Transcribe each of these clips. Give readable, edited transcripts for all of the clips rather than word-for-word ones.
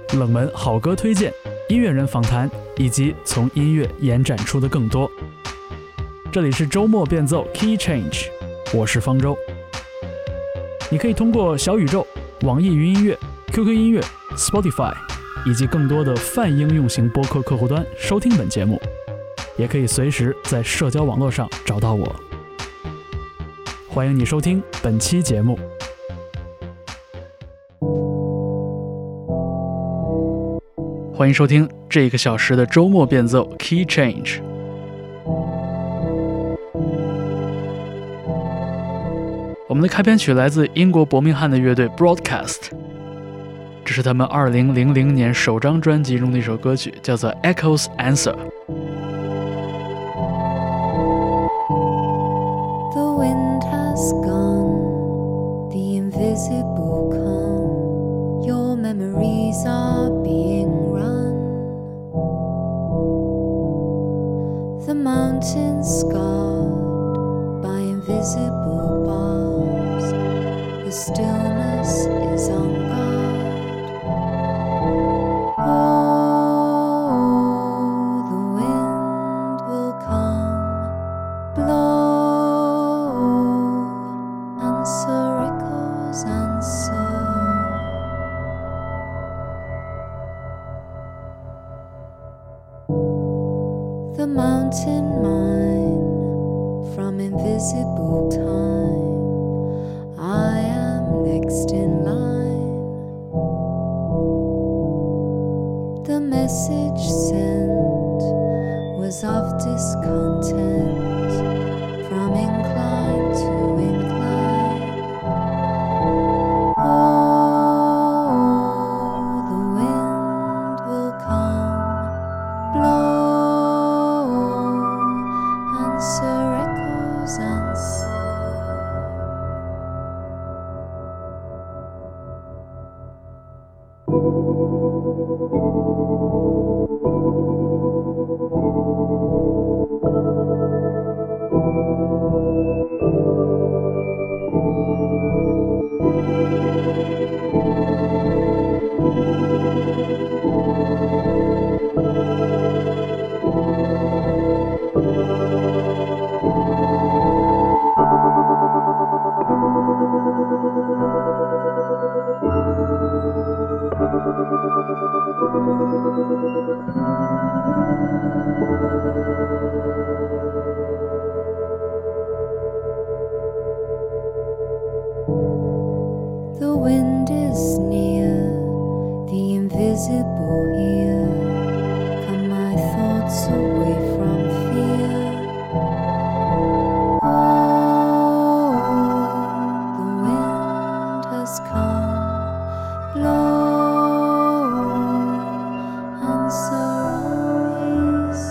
冷门好歌推荐、音乐人访谈，以及从音乐延展出的更多。这里是周末变奏 Key Change， 我是方舟。你可以通过小宇宙、网易云音乐、QQ 音乐、Spotify 以及更多的泛应用型播客客户端收听本节目，也可以随时在社交网络上找到我。欢迎你收听本期节目。欢迎收听这个小时的周末变奏 Key Change。 我们的开篇曲来自英国伯明翰的乐队 Broadcast， 这是他们2000年首张专辑中的一首歌曲，叫做 Echoes Answer。 The wind has gone, the invisible come, your memories are being run, the mountains scarred by invisible bars, the stillness is on guard. Oh, the wind will come, blow, answer echoes, answer. The mountain mine from invisible time, I am next in line. The message sent was of discontent, from incline to incline. Oh, the wind will come, blow, answer echoes, answer. The wind is near, the invisible here. Come my thoughts away from fear. Oh, the wind has come, blow, answer always.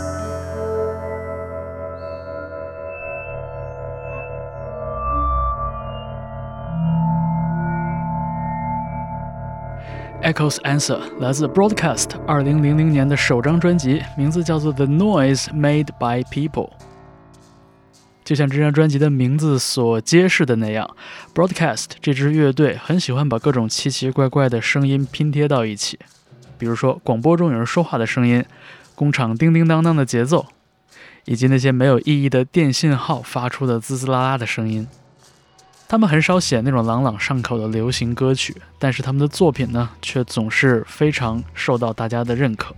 Echoes Answer 来自 Broadcast 2000年的首张专辑，名字叫做 The Noise Made by People。 就像这张专辑的名字所揭示的那样， Broadcast 这支乐队很喜欢把各种奇奇怪怪的声音拼贴到一起，比如说广播中有人说话的声音，工厂叮叮当当的节奏，以及那些没有意义的电信号发出的滋滋啦啦的声音。他们很少写那种朗朗上口的流行歌曲，但是他们的作品呢，却总是非常受到大家的认可。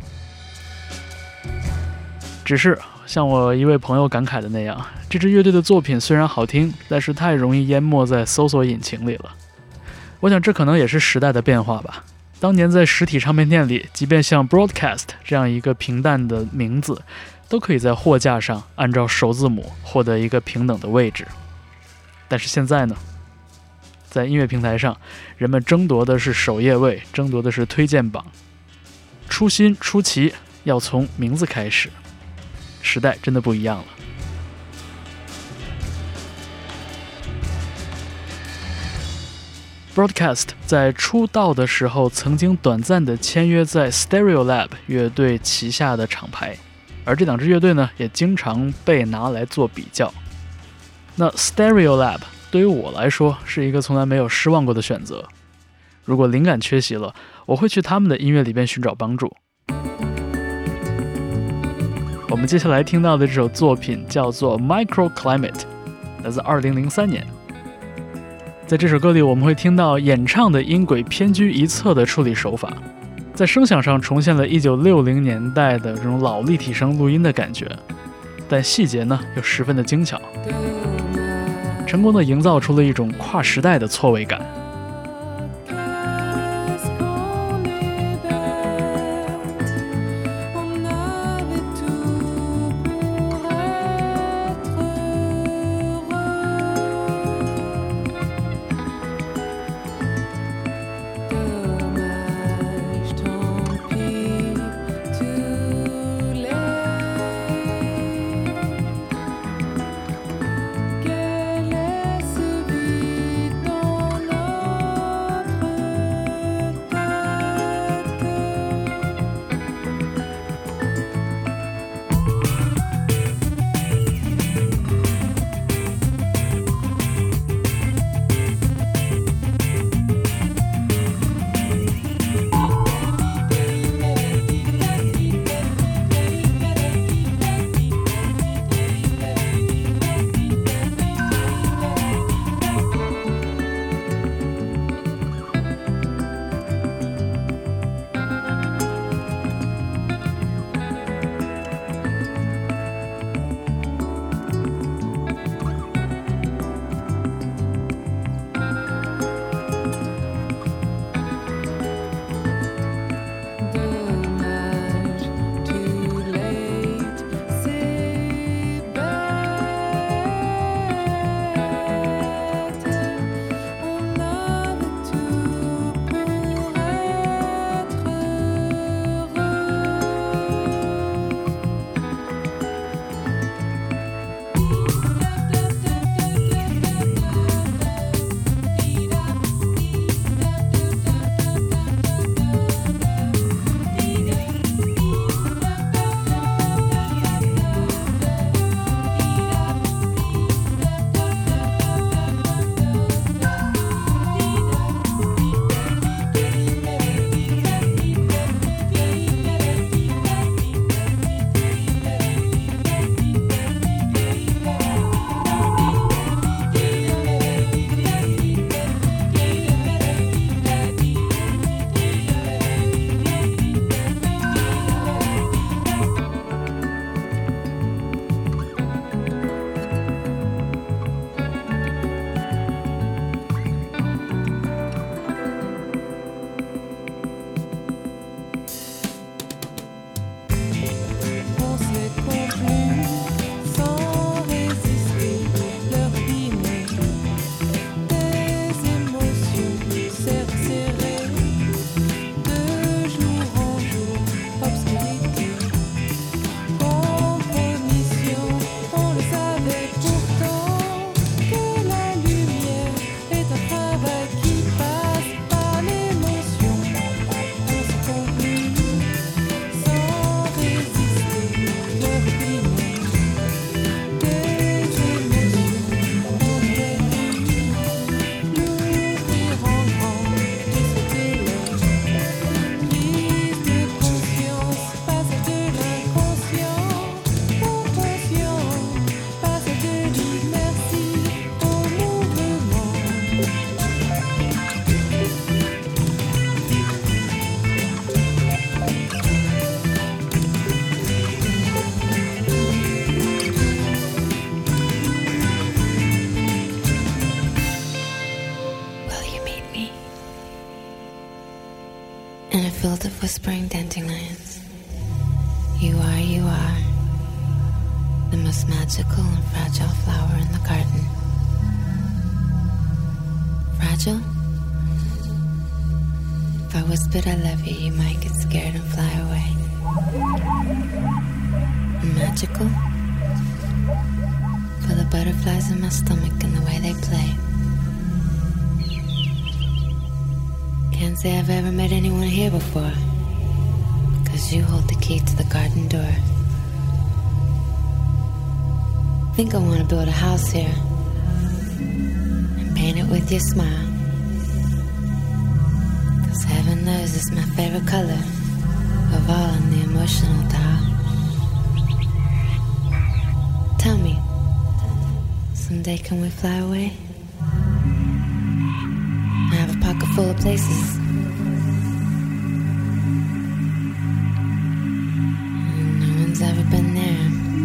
只是像我一位朋友感慨的那样，这支乐队的作品虽然好听，但是太容易淹没在搜索引擎里了。我想这可能也是时代的变化吧。当年在实体唱片店里，即便像 Broadcast 这样一个平淡的名字，都可以在货架上按照首字母获得一个平等的位置。但是现在呢，在音乐平台上，人们争夺的是首页位，争夺的是推荐榜。出新出奇要从名字开始，时代真的不一样了。Broadcast 在出道的时候曾经短暂的签约在 Stereolab 乐队旗下的厂牌，而这两支乐队呢也经常被拿来做比较。那 Stereolab 对于我来说是一个从来没有失望过的选择。 如果灵感缺席了，我会去他们的音乐里边寻找帮助。我们接下来听到的这首作品叫做 Microclimate， 来自2003年。在这首歌里，我们会听到演唱的音轨偏居一侧的处理手法，在声响上重现了1960年代的这种老立体声录音的感觉，但细节呢又十分的精巧，成功的营造出了一种跨时代的错位感。 Field of whispering dandelions. You are the most magical and fragile flower in the garden. Fragile? If I whispered I love you, you might get scared and fly away. Magical? For the butterflies in my stomach and the way they play. Can't say I've ever met anyone here before, 'cause you hold the key to the garden door. Think I wanna build a house here and paint it with your smile. Heaven knows it's my favorite color of all on the emotional dial. Tell me, someday can we fly away? I have a pocket full of places. And no one's ever been there.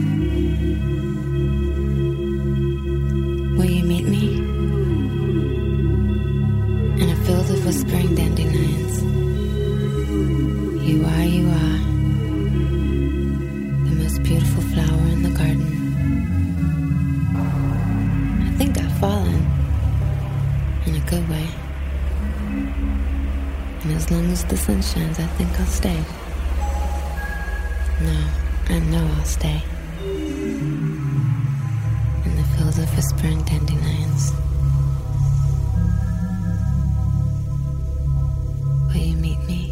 Will you meet me? In a field of whispering dandelions. You are the most beautiful flower in the garden. I think I've fallen in a good way. And as long as the sun shines, I think I'll stay. No, I know I'll stay. In the field of whispering dandelions. Will you meet me?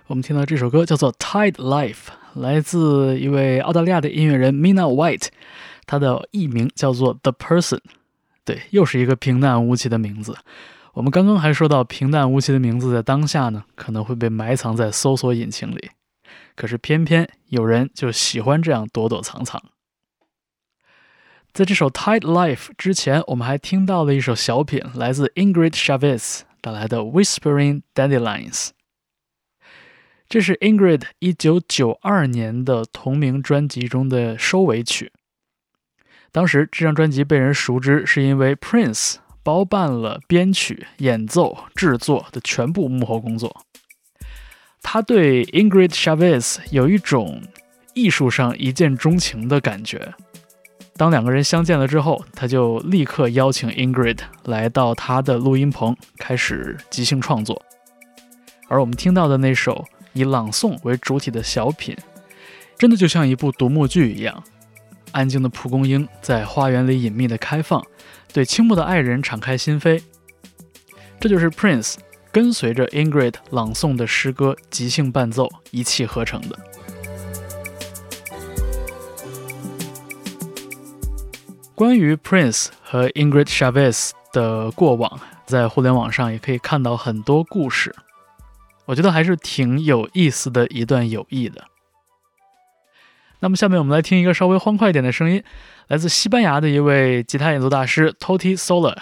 我们听到这首歌叫做 Tide Life， 来自一位澳大利亚的音乐人 Mina White， 他的艺名叫做 The Person。 对，又是一个平淡无奇的名字。我们刚刚还说到平淡无奇的名字在当下呢，可能会被埋藏在搜索引擎里，可是偏偏有人就喜欢这样躲躲藏藏。在这首 Tide Life 之前，我们还听到了一首小品，来自 Ingrid Chavez 带来的 Whispering Dandelions。 这是 Ingrid 1992年的同名专辑中的收尾曲。当时这张专辑被人熟知是因为 Prince 包办了编曲、演奏、制作的全部幕后工作。他对 Ingrid Chavez 有一种艺术上一见钟情的感觉。当两个人相见了之后，他就立刻邀请 Ingrid 来到他的录音棚，开始即兴创作。而我们听到的那首以朗诵为主体的小品，真的就像一部独幕剧一样。安静的蒲公英在花园里隐秘的开放，对倾慕的爱人敞开心扉。这就是 Prince 跟随着 Ingrid 朗诵的诗歌即兴伴奏一气呵成的。关于 Prince 和 Ingrid Chavez 的过往，在互联网上也可以看到很多故事，我觉得还是挺有意思的一段友谊的。那么下面我们来听一个稍微欢快一点的声音，来自西班牙的一位吉他演奏大师 Toti Soler。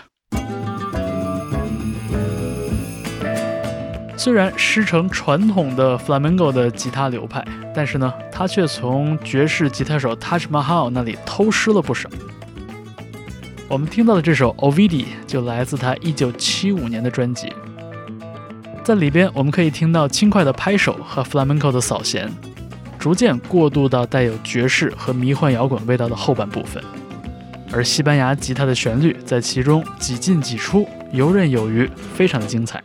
虽然师承传统的 Flamenco 的吉他流派，但是呢，他却从爵士吉他手 Taj Mahal 那里偷师了不少。我们听到的这首 Ovidi 就来自他1975年的专辑，在里边我们可以听到轻快的拍手和 Flamenco 的扫弦，逐渐过渡到带有爵士和迷幻摇滚味道的后半部分，而西班牙吉他的旋律在其中几进几出，游刃有余，非常的精彩。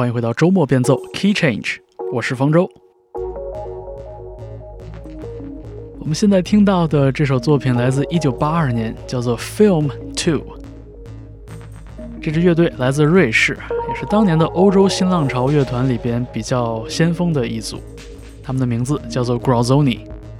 欢迎回到周末变奏 Key Change， 我是方舟。我们现在听到的这首作品来自1982年，叫做 Film 2。这支乐队来自瑞士，也是当年的欧洲新浪潮乐团里边比较先锋的一组，他们的名字叫做 Grazzoni。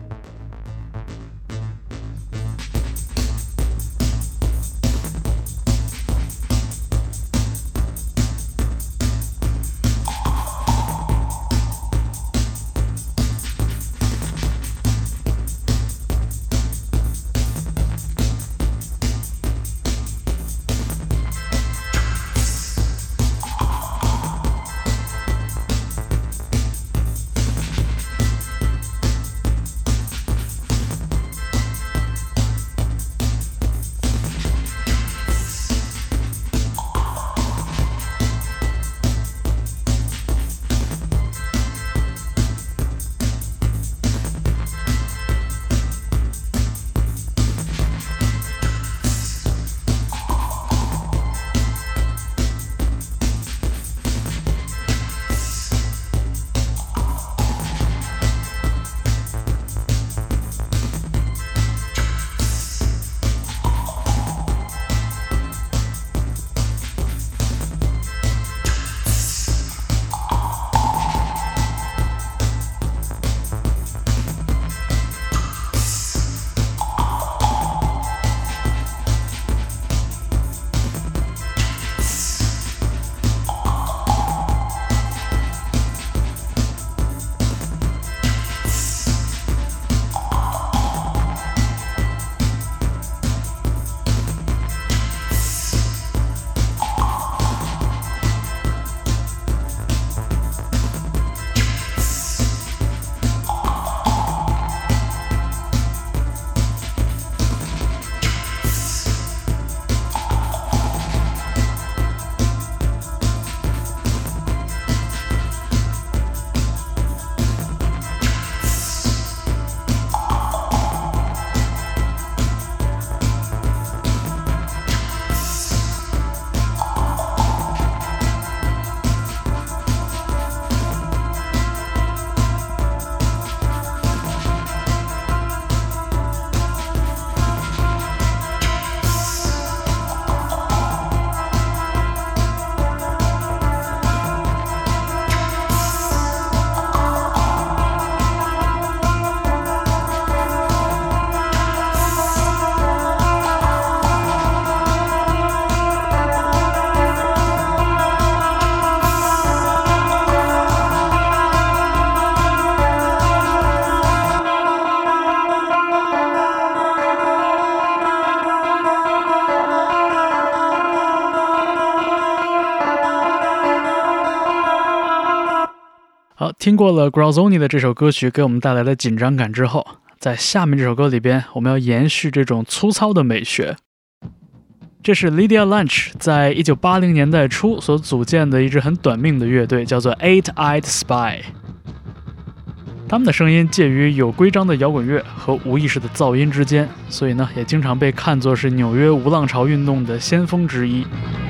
好，听过了 Grazzoni 的这首歌曲给我们带来的紧张感之后，在下面这首歌里边，我们要延续这种粗糙的美学。这是 Lydia Lunch 在1980年代初所组建的一支很短命的乐队，叫做 Eight-Eyed Spy。他们的声音介于有规章的摇滚乐和无意识的噪音之间，所以呢，也经常被看作是纽约无浪潮运动的先锋之一。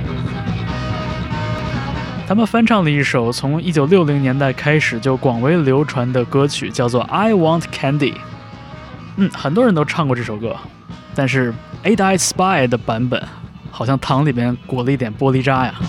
他们翻唱了一首从1960年代开始就广为流传的歌曲，叫做 I Want Candy。很多人都唱过这首歌，但是 Eight-Eyed Spy 的版本好像糖里边裹了一点玻璃渣呀。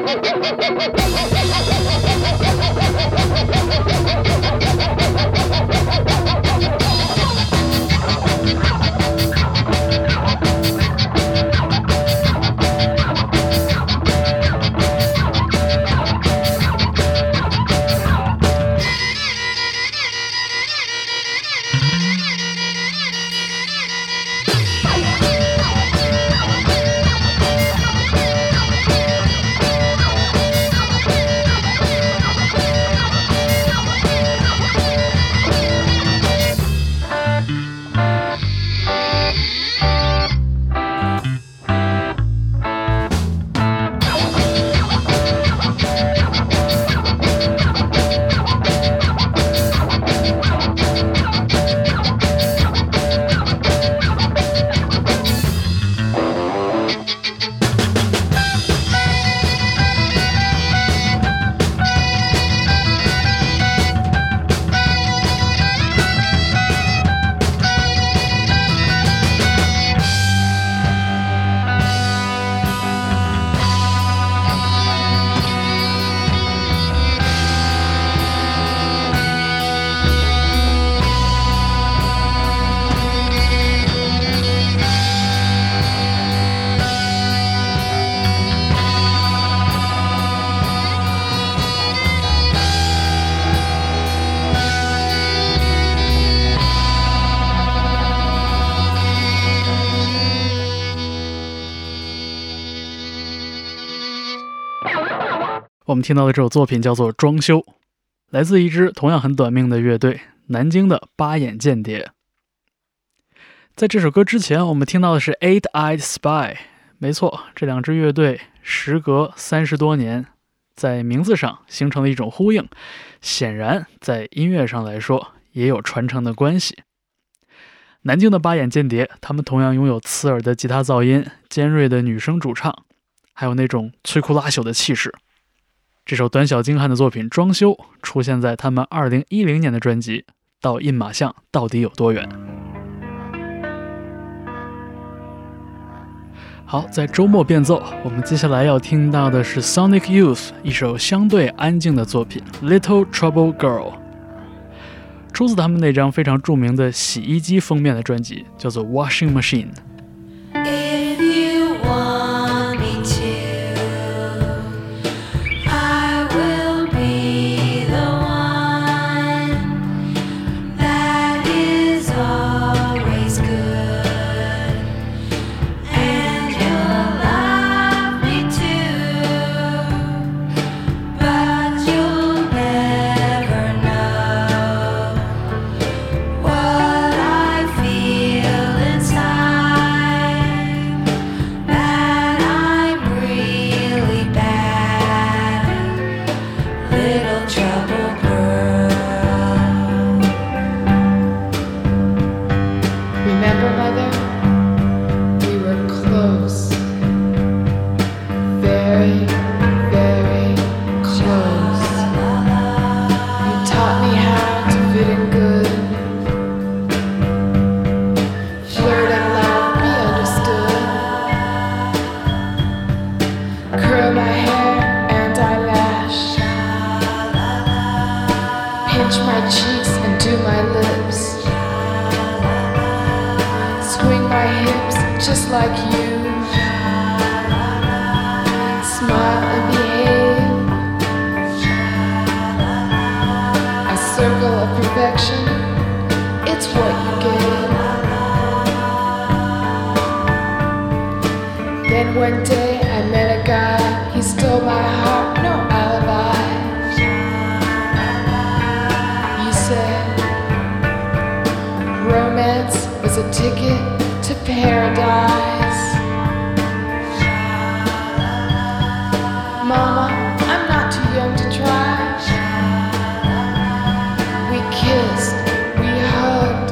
我们听到的这首作品叫做《装修》，来自一支同样很短命的乐队——南京的八眼间谍。在这首歌之前，我们听到的是 Eight-Eyed Spy。没错，这两支乐队时隔30多年，在名字上形成了一种呼应，显然在音乐上来说也有传承的关系。南京的八眼间谍，他们同样拥有刺耳的吉他噪音、尖锐的女声主唱，还有那种摧枯拉朽的气势。这首短小精悍的作品《装修》出现在他们2010年的专辑《到印马巷到底有多远》。好，在周末变奏，我们接下来要听到的是 Sonic Youth 一首相对安静的作品《Little Trouble Girl》，出自他们那张非常著名的洗衣机封面的专辑，叫做 Washing Machine。If you want me to,I will be the one that is always good, and you'll love me too, but you'll never know what I feel inside, that I'm really bad.Little trouble girl. Remember, Mother? We were close. Very, very close. You taught me how to fit in good. Flirt and laugh, be understood. Curl my hair and eyelash.Pinch my cheeks and do my lips. Swing my hips just like you. Smile and behave. A circle of perfection, it's what you gave. Then one day I met a guy, he stole my heart, no alibi.You said romance was a ticket to paradise. Mama, I'm not too young to try. We kissed, we hugged.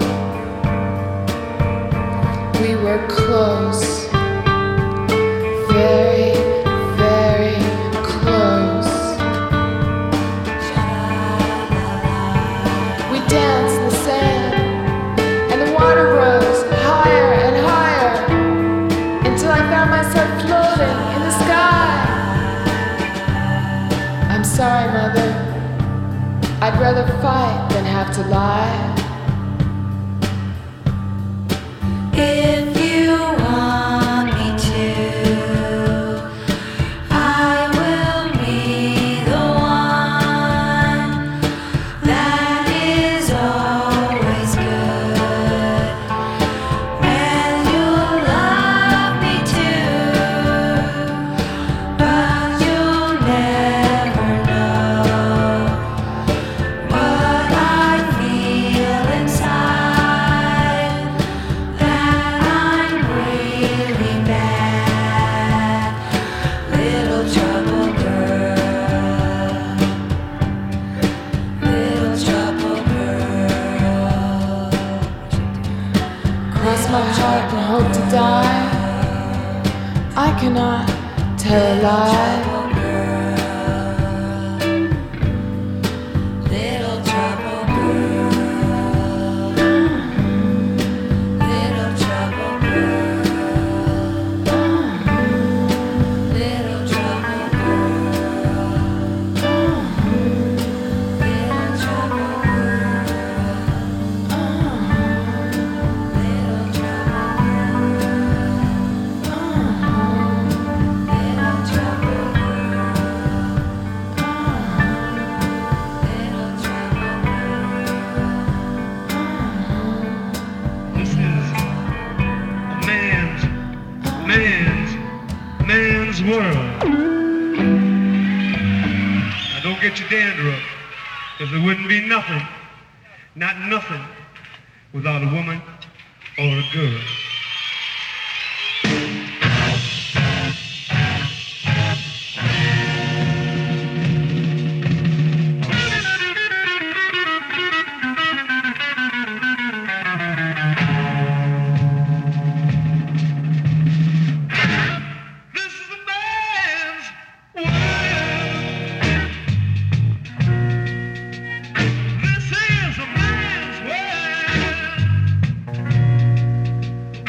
We were close. Very, very close.We danced in the sand, and the water rose higher and higher, until I found myself floating in the sky. I'd rather fight than have to lie. If you want me to, I will be the one that is always good, and you'll love me too, but you'll never know what I feel inside, that I'm really bad, little trouble girl, little trouble girl. Cross my heart and hope to die. I cannot tell a lie. Little trouble girl, little trouble girl, little trouble girl, little trouble This is a man's world. Now don't get your dander up, because there wouldn't be nothing, not nothing, without a woman or a girl. This is a man's world. This is a man's world.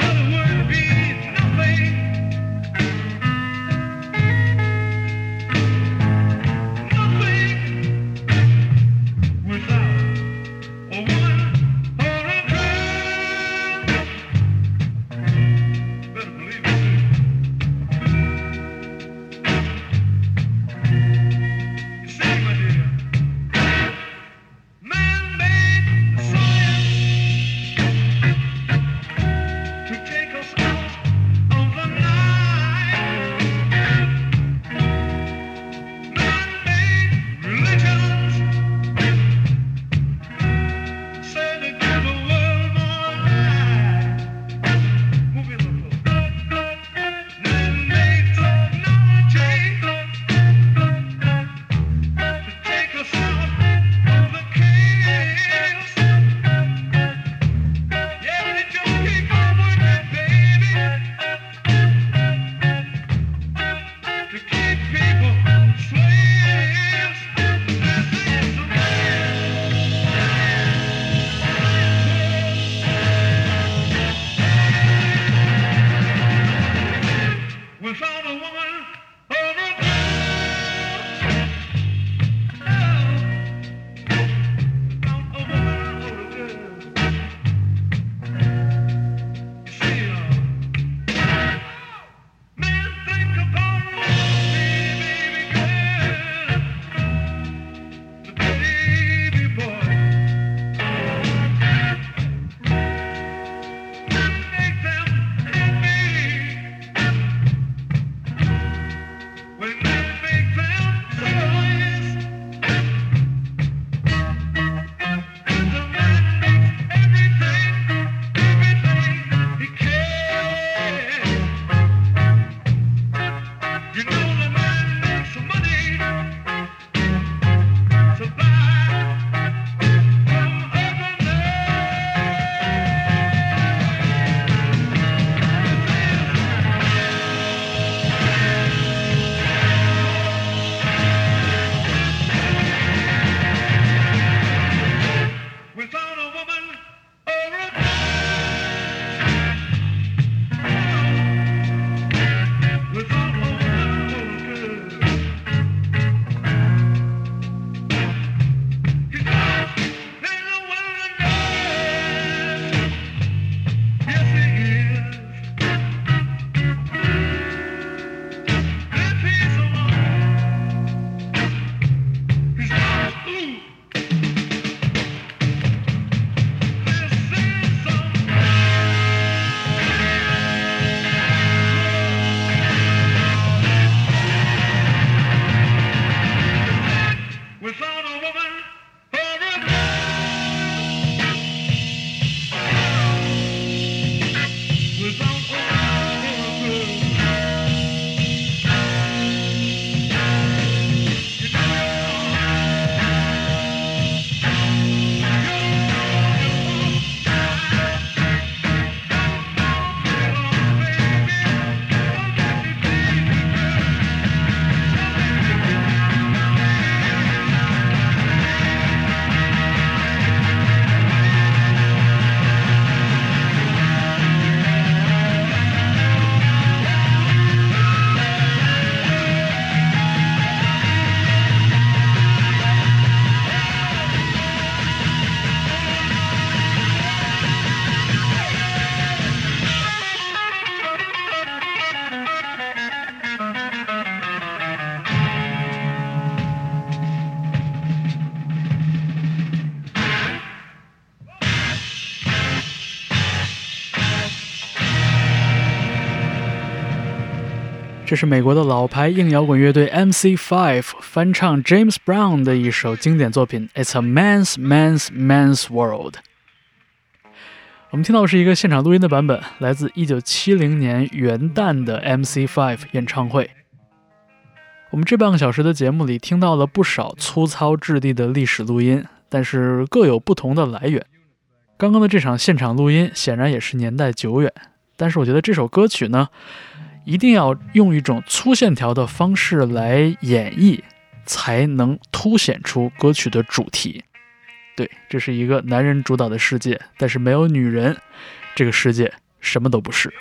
这是美国的老牌硬摇滚乐队 MC5 翻唱 James Brown 的一首经典作品 It's a Man's World。 我们听到的是一个现场录音的版本，来自1970年元旦的 MC5 演唱会。我们这半个小时的节目里听到了不少粗糙质地的历史录音，但是各有不同的来源。刚刚的这场现场录音显然也是年代久远，但是我觉得这首歌曲呢，一定要用一种粗线条的方式来演绎，才能凸显出歌曲的主题。对，这是一个男人主导的世界，但是没有女人，这个世界什么都不是。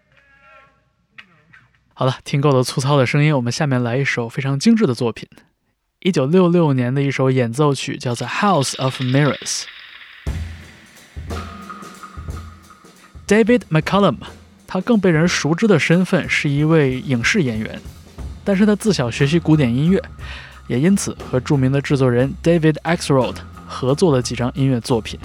好了，听够了粗糙的声音，我们下面来一首非常精致的作品，1966年的一首演奏曲，叫做 House of Mirrors。 David McCallum， 他更被人熟知的身份是一位影视演员，但是他自小学习古典音乐，也因此和著名的制作人 David Axelrod 合作了几张音乐作品。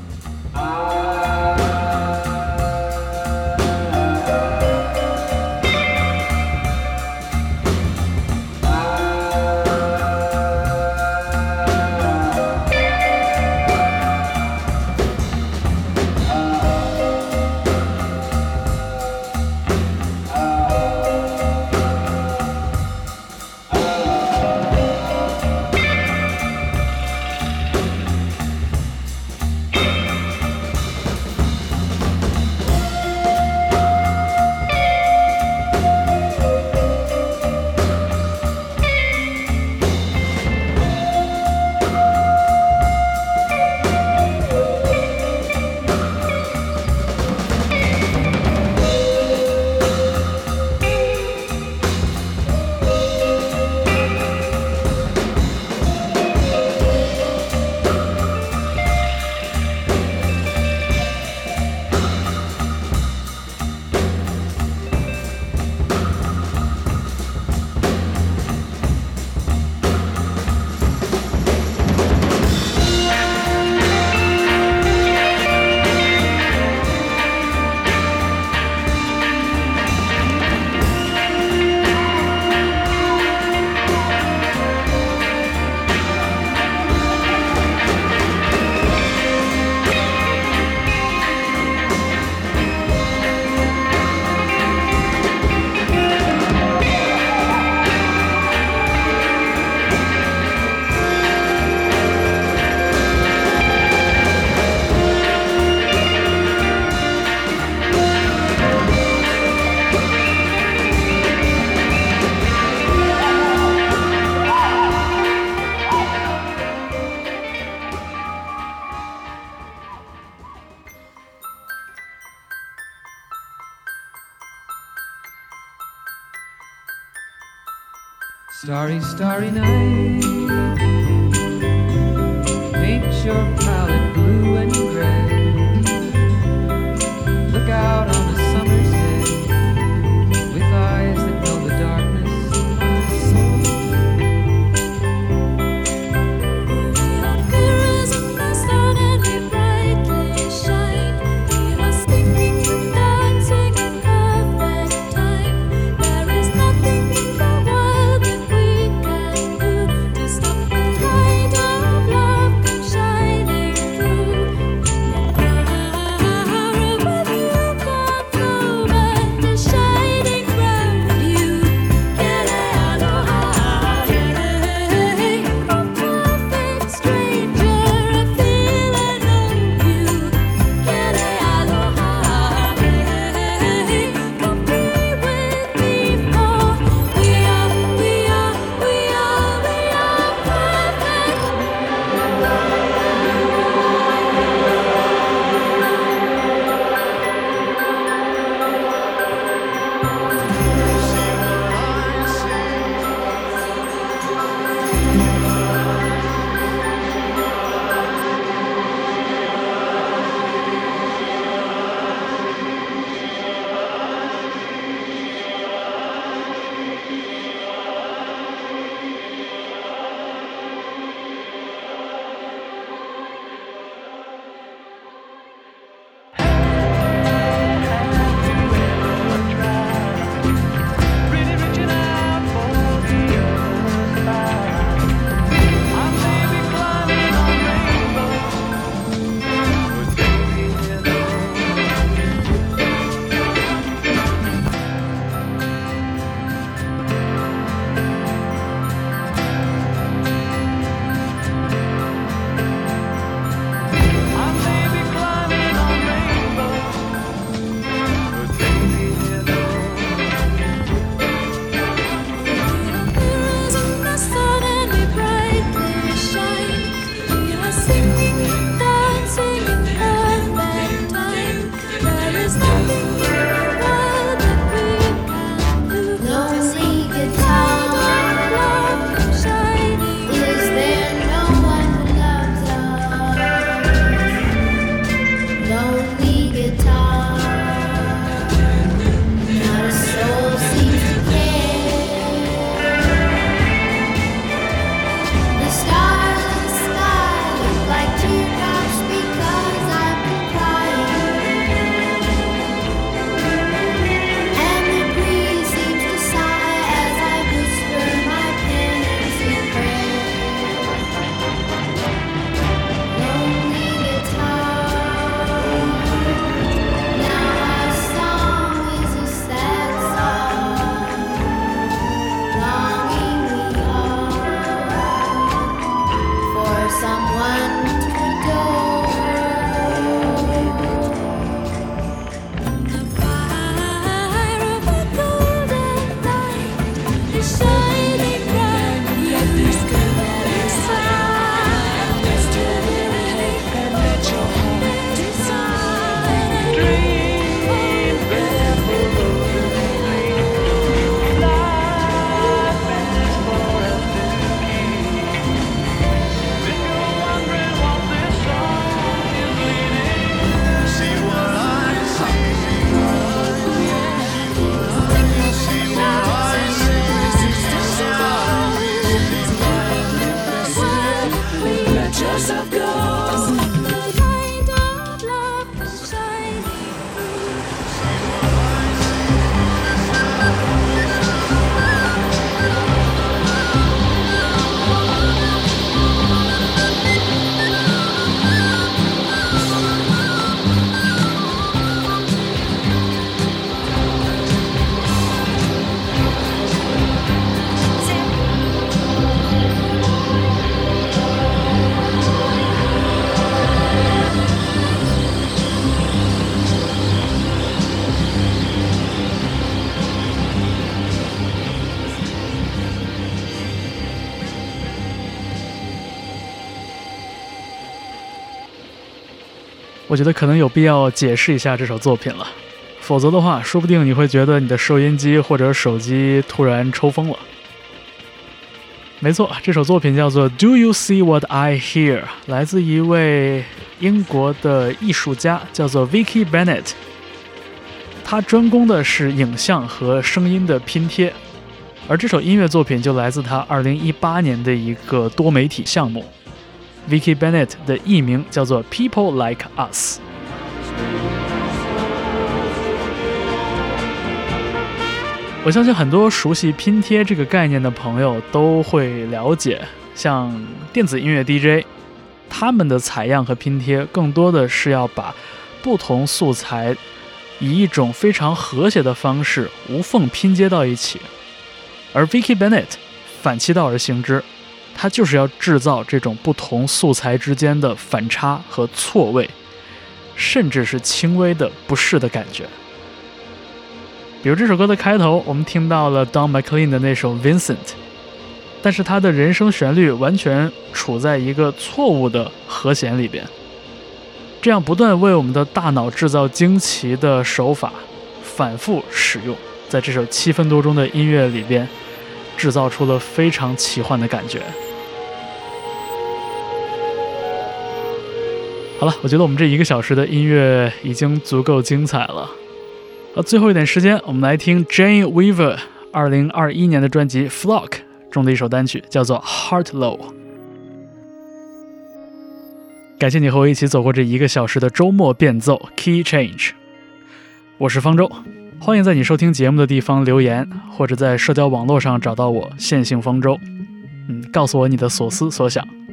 Starry, starry night. Paint your palette blue and gray. Look out on a summer's day with eyes that know the darkness of the soul. We are mirrors in the sun and we brightly shine. We are singing and dancing in perfect time. There is nothing in the world that we can do to stop the light of love from shining. 我觉得可能有必要解释一下这首作品了，否则的话，说不定你会觉得你的收音机或者手机突然抽风了。没错，这首作品叫做 Do You See What I Hear， 来自一位英国的艺术家，叫做 Vicky Bennett。他专攻的是影像和声音的拼贴，而这首音乐作品就来自他2018年的一个多媒体项目。Vicky Bennett 的艺名叫做 People Like Us。我相信很多熟悉拼贴这个概念的朋友都会了解，像电子音乐 DJ， 他们的采样和拼贴更多的是要把不同素材以一种非常和谐的方式无缝拼接到一起，而 Vicky Bennett 反其道而行之，他就是要制造这种不同素材之间的反差和错位，甚至是轻微的不适的感觉。比如这首歌的开头，我们听到了 Don McLean 的那首 Vincent， 但是他的人声旋律完全处在一个错误的和弦里边，这样不断为我们的大脑制造惊奇的手法反复使用，在这首7分多钟的音乐里边制造出了非常奇幻的感觉。好了，我觉得我们这1个小时的音乐已经足够精彩了。最后一点时间，我们来听 Jane Weaver 2021年的专辑 Flock 中的一首单曲，叫做 Heart Low。 感谢你和我一起走过这1个小时的周末变奏 Key Change。 我是方舟，欢迎在你收听节目的地方留言，或者在社交网络上找到我线性方舟，告诉我你的所思所想。